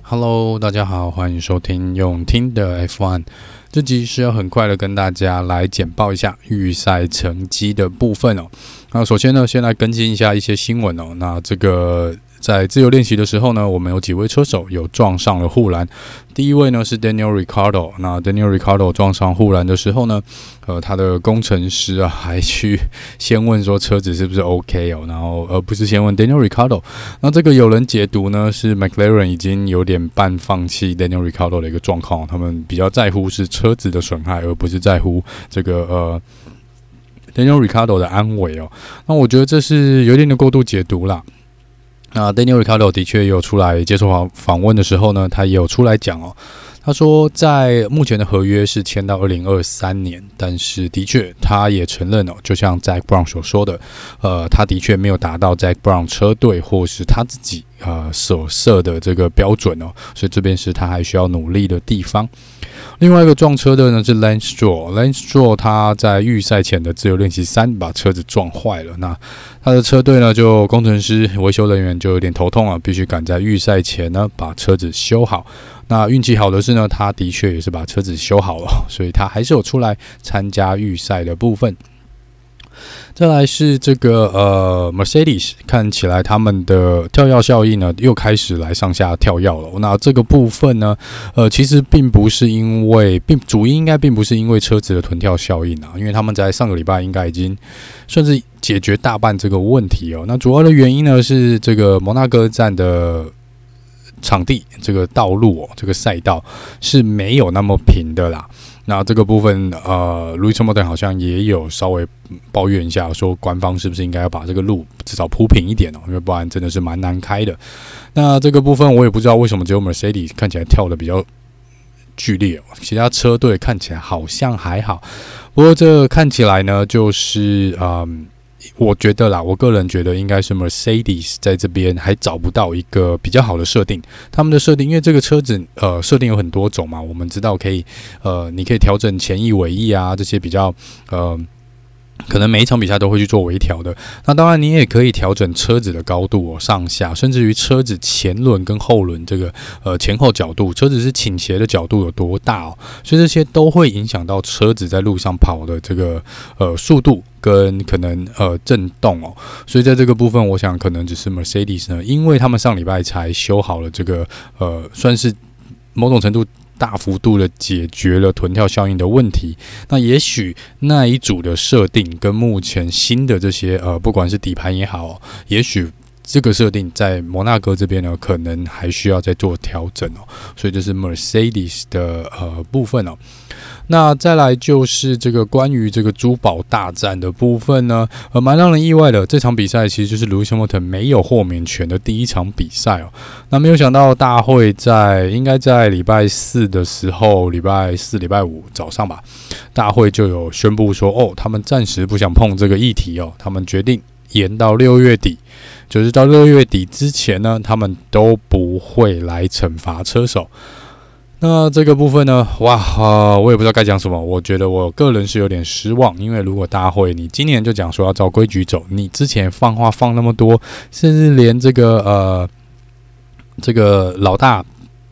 Hello， 大家好，歡迎收聽用聽的 F1。這集是要很快的跟大家來簡報一下預賽成績的部分哦。那首先呢，先來更新一下一些新聞哦。那這個在自由練習的時候呢，我們有幾位車手有撞上了護欄。第一位呢是 Daniel Ricciardo， 那 Daniel Ricciardo 撞上護欄的時候呢，他的工程師還去先問說車子是不是 OK 哦，然後而不是先問 Daniel Ricciardo。那這個有人解讀呢是 McLaren 已經有點半放棄 Daniel Ricciardo 的一個狀況，他們比較在乎是車子的損害，而不是在乎這個Daniel Ricciardo 的安危哦。那我覺得這是有點的過度解讀啦。那 Daniel Ricciardo 的確也有出來接受訪問的時候呢，他也有出來講哦。他說，在目前的合約是簽到2023年，但是的確他也承認哦，就像 Zac Brown 所說的，他的確沒有達到 Zac Brown 車隊或是他自己所設的這個標準哦，所以這邊是他還需要努力的地方。另外一個撞車的呢是 Lance Stroll，Lance Stroll 他在預賽前的自由練習3把車子撞壞了，那他的車隊呢就工程師維修人員就有點頭痛了，必須趕在預賽前呢把車子修好。那運氣好的是呢，他的確也是把車子修好了，所以他還是有出來參加預賽的部分。再來是這個Mercedes， 看起來他們的跳躍效應呢又開始來上下跳躍了。那這個部分呢，其實並不是因為主因應該並不是因為車子的臀跳效應啊，因為他們在上個禮拜應該已經算是解決大半這個問題哦。那主要的原因呢是這個摩納哥站的場地，這個道路哦，這個賽道是沒有那麼平的啦。那這個部分Lewis Hamilton 好像也有稍微抱怨一下，說官方是不是應該要把這個路至少鋪平一點哦，因為不然真的是蠻難開的。那這個部分我也不知道為什麼只有 Mercedes 看起來跳得比較劇烈哦，其他車隊看起來好像還好。不過這看起來呢，就是我覺得啦，我個人覺得應該是 Mercedes 在這邊還找不到一個比較好的設定。他們的設定，因為這個車子設定有很多種嘛，我們知道可以你可以調整前翼、尾翼啊這些比較可能每一場比賽都會去做微調的。那當然，你也可以調整車子的高度哦，上下，甚至於車子前輪跟後輪這個前後角度，車子是傾斜的角度有多大哦，所以這些都會影響到車子在路上跑的這個速度跟可能震動哦。所以在這個部分，我想可能只是 Mercedes 呢，因為他們上禮拜才修好了這個算是某種程度大幅度的解決了臀跳效應的問題。那也許那一組的設定跟目前新的這些不管是底盤也好，也許這個設定在摩納哥這邊呢，可能還需要再做調整哦。所以這是 Mercedes 的部分哦。那再來就是這個關於這個珠寶大戰的部分呢，蠻讓人意外的。這場比賽其實就是 Lewis Hamilton 沒有豁免權的第一場比賽哦。那沒有想到大會應該在禮拜4的時候，禮拜4、禮拜5早上吧，大會就有宣布說，他們暫時不想碰這個議題哦，他們決定延到6月底，就是到6月底之前呢，他們都不會來懲罰車手。那這個部分呢，我也不知道該講什麼。我覺得我個人是有點失望，因為如果大會你今年就講說要照規矩走，你之前放話放那麼多，甚至連這個老大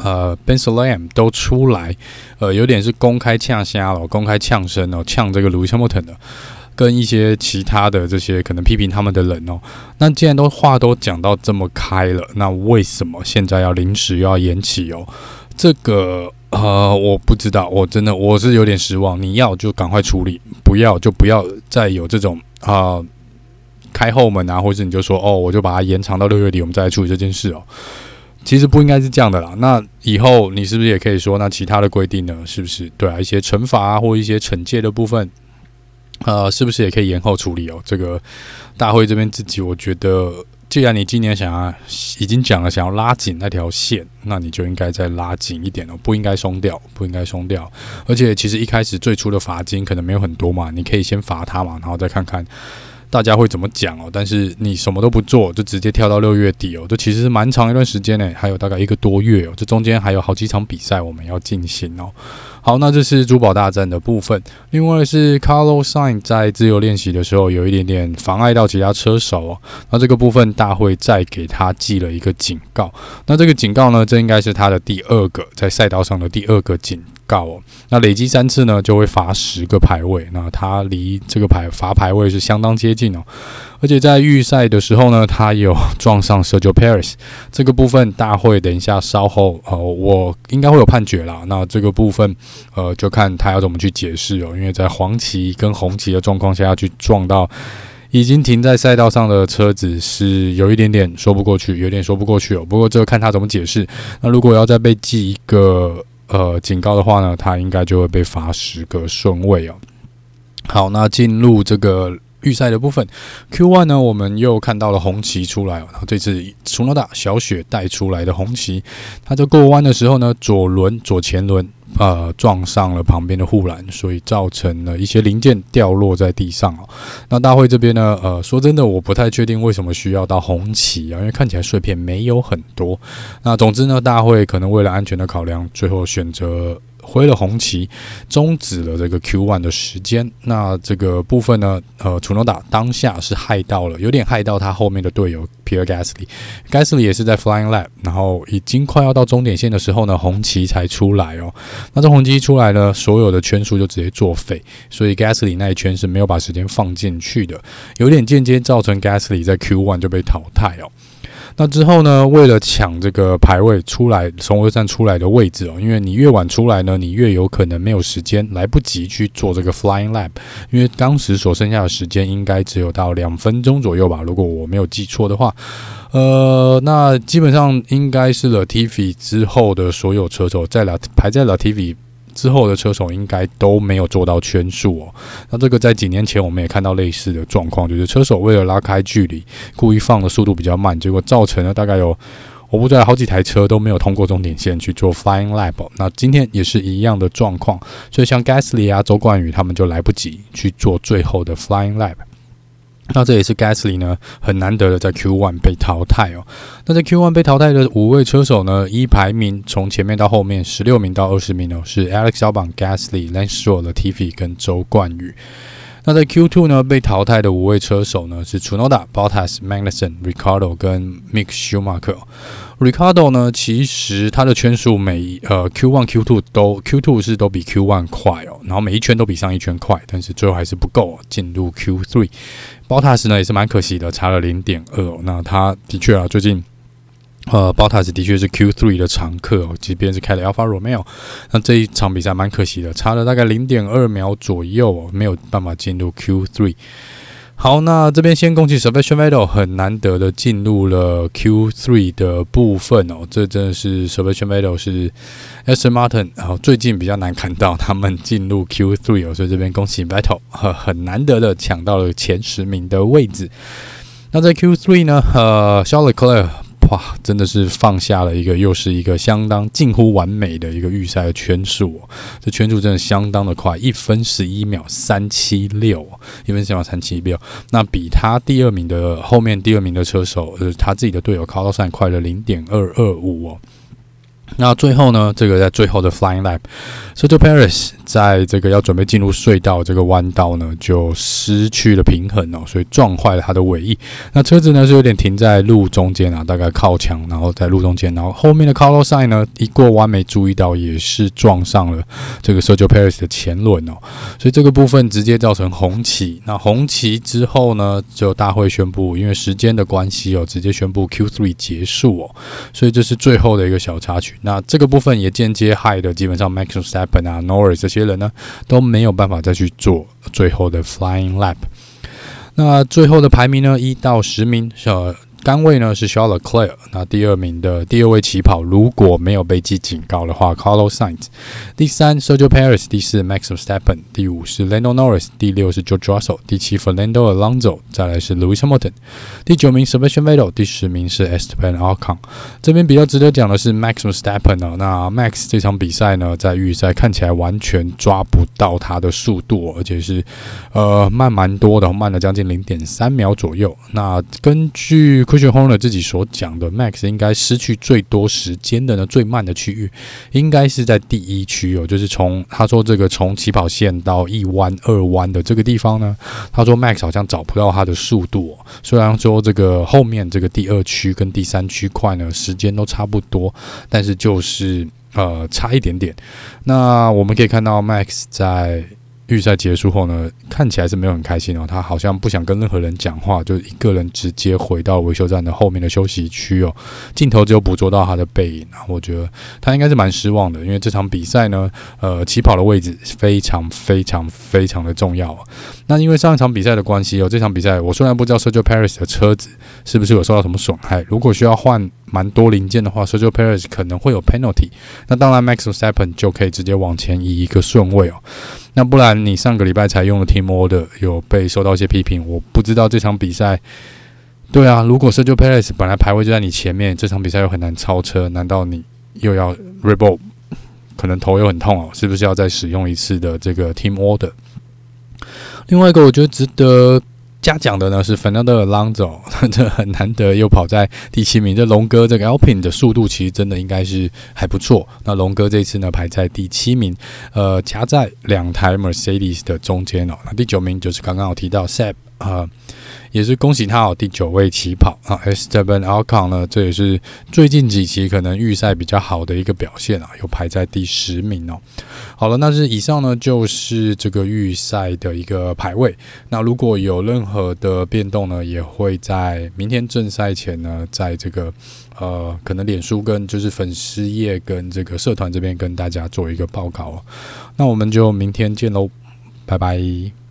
Ben Sulayem 都出來，有點是公開嗆聲了，公開嗆聲哦，嗆這個 Lewis Hamilton 的，跟一些其他的這些可能批評他們的人哦。那既然話都講到這麼開了，那為什麼現在要臨時又要延期哦？這個我不知道，我是有點失望。你要就趕快處理，不要就不要再有這種開後門啊，或者你就說我就把它延長到6月底，我們再來處理這件事哦。其實不應該是這樣的啦。那以後你是不是也可以說，那其他的規定呢？是不是對啊？一些懲罰啊，或一些懲戒的部分，是不是也可以延後處理哦？這個大會這邊自己，我覺得。既然你今年已經講了想要拉緊那條線，那你就應該再拉緊一點哦，不應該鬆掉。而且其實一開始最初的罰金可能沒有很多嘛，你可以先罰他嘛，然後再看看大家會怎麼講哦，但是你什麼都不做，就直接跳到6月底哦，這其實是蠻長一段時間呢，還有大概1個多月哦，這中間還有好幾場比賽我們要進行哦。好，那這是珠寶大戰的部分。另外是 Carlos Sainz 在自由練習的時候有一點點妨礙到其他車手哦。那這個部分大會再給他記了一個警告。那這個警告呢，這應該是他的第2個在賽道上的第2個警告哦。那累積3次呢，就會罰10個排位。那他離這個罰排位是相當接近哦。而且在預賽的時候呢，他有撞上 Sergio Perez， 這個部分大會等一下稍後我應該會有判決啦。那這個部分就看他要怎麼去解釋哦，因為在黃旗跟紅旗的狀況下要去撞到已經停在賽道上的車子，是有一點點說不過去，有點說不過去哦。不過這個看他怎麼解釋。那如果要再被記一個警告的話呢，他應該就會被罰10個順位哦。好，那進入這個預賽的部分 ，Q1 呢，我們又看到了紅旗出來哦。然後這次Tsunoda小雪帶出來的紅旗，他在過彎的時候呢，左前輪撞上了旁邊的護欄，所以造成了一些零件掉落在地上哦。那大會這邊呢，說真的，我不太確定為什麼需要到紅旗啊，因為看起來碎片沒有很多。那總之呢，大會可能為了安全的考量，最後選擇揮了紅旗，終止了這個 Q1 的時間。那這個部分呢，Tsunoda 當下是有點害到他後面的隊友 Pierre Gasly 也是在 Flying Lap， 然後已經快要到終點線的時候呢，紅旗才出來哦。那這紅旗出來呢，所有的圈數就直接作廢，所以 Gasly 那一圈是沒有把時間放進去的，有點間接造成 Gasly 在 Q1 就被淘汰哦。那之後呢，為了搶這個排位出來，從油站出來的位置哦，因為你越晚出來呢，你越有可能沒有時間，來不及去做這個 flying lap， 因為當時所剩下的時間應該只有到2分鐘左右吧，如果我沒有記錯的話。那基本上應該是 Latifi 之後的所有車手，排在 Latifi之後的車手應該都沒有做到圈數哦。那這個在幾年前我們也看到類似的狀況，就是車手為了拉開距離，故意放的速度比較慢，結果造成了大概有我不知道好幾台車都沒有通過終點線去做 flying lap 哦。那今天也是一樣的狀況，所以像 Gasly 啊、周冠宇他們就來不及去做最後的 flying lap。那這也是 Gasly 呢很難得的在 Q1 被淘汰哦。那在 Q1 被淘汰的5位車手呢，依排名從前面到後面16名到20名哦，是 Alex Albon、Gasly、Lance Stroll、Latifi 跟周冠宇。那在 Q2 呢，被淘汰的5位車手呢是 Tsunoda、Bottas、Magnussen、Ricciardo 跟 Mick Schumacher。Ricciardo 呢，其實他的圈數Q1、Q2 是都比 Q1 快哦，然後每一圈都比上一圈快，但是最後還是不夠進入 Q3。Bottas 呢也是蠻可惜的，差了 0.2 哦。那他的確最近Bottas 的確是 Q3 的常客哦，即便是開了 Alfa Romeo， 那這一場比賽蠻可惜的，差了大概 0.2 秒左右哦，沒有辦法進入 Q3。好，那這邊先恭喜 Sebastian Vettel 很難得的進入了 Q3 的部分哦，這真的是 Sebastian Vettel 是 Aston Martin 最近比較難看到他們進入 Q3 哦，所以這邊恭喜 Vettel 很難得的搶到了前10名的位置。那在 Q3 呢，Charles Leclerc哇，真的是放下了又是一個相當近乎完美的一個預賽的圈數哦，這圈數真的相當的快，1分11秒376，1分11秒376，那比他後面第二名的車手，他自己的隊友 Carlos Sainz 快了 0.225 哦。那最後呢，這個在最後的 Flying Lap，Sergio Perez 在這個要準備進入隧道這個彎道呢，就失去了平衡哦，所以撞壞了他的尾翼。那車子呢是有點停在路中間啊，大概靠牆，然後在路中間，然後後面的 Carlos Sainz 呢一過彎沒注意到，也是撞上了這個 Sergio Perez 的前輪哦，所以這個部分直接造成紅旗。那紅旗之後呢，就大會宣布，因為時間的關係哦，直接宣布 Q3 結束哦，所以這是最後的一個小插曲。那這個部分也間接害的，基本上 Max Verstappen 啊、Norris 這些人呢都沒有辦法再去做最後的 Flying Lap。那最後的排名呢，1到10名桿位呢是 Charles Leclerc， 那第二名的第二位起跑如果沒有被記警告的話 Carlos Sainz， 第三 Sergio Perez， 第四 Max Verstappen， 第五是 Lando Norris， 第六是 George Russell， 第七 Fernando Alonso， 再來是 Lewis Hamilton， 第九名 Sebastian Vettel， 第10名是 Esteban Ocon。這邊比較值得講的是 Max Verstappen 哦，那 Max 這場比賽呢，在預賽看起來完全抓不到他的速度，而且是慢蠻多的，慢了將近 0.3 秒左右。那根據 Christian Horner 自己所講的 ，Max 應該失去最多時間的呢，最慢的區域應該是在第一區哦，就是他說這個從起跑線到1彎、2彎的這個地方呢，他說 Max 好像找不到他的速度哦。雖然說這個後面這個第2區跟第3區塊呢，時間都差不多，但是就是差一點點。那我們可以看到 Max 在預賽結束後呢，看起來是沒有很開心哦，他好像不想跟任何人講話，就一個人直接回到維修站的後面的休息區哦。鏡頭只有捕捉到他的背影啊，我覺得他應該是蠻失望的，因為這場比賽呢，起跑的位置非常非常非常的重要哦。那因為上一場比賽的關係哦，這場比賽我雖然不知道 Sergio Perez 的車子是不是有受到什麼損害，如果需要換蠻多零件的話 ，Sergio Perez 可能會有 penalty。那當然 ，Max Verstappen 就可以直接往前移一個順位哦。那不然你上個禮拜才用的 Team Order 有被受到一些批評，我不知道這場比賽。對啊，如果 Sergio Perez 本來排位就在你前面，這場比賽又很難超車，難道你又要 Rebel？ 可能頭又很痛哦，是不是要再使用一次的這個 Team Order？ 另外一個我覺得值得嘉獎的呢是 Fernando Alonso， 這很難得又跑在第7名。這龍哥這個 Alpine 的速度其實真的應該是還不錯。那龍哥這次呢排在第7名，夾在2台 Mercedes 的中間哦。那第9名就是剛剛有提到 Seb， 也是恭喜他哦，第9位起跑啊。Esteban Ocon 呢，這也是最近幾期可能預賽比較好的一個表現啊，又排在第10名哦。好了，那是以上呢就是這個預賽的一個排位。那如果有任何的變動呢，也會在明天正賽前呢，在這個可能臉書跟就是粉絲頁跟這個社團這邊跟大家做一個報告哦。那我們就明天見嘍，拜拜。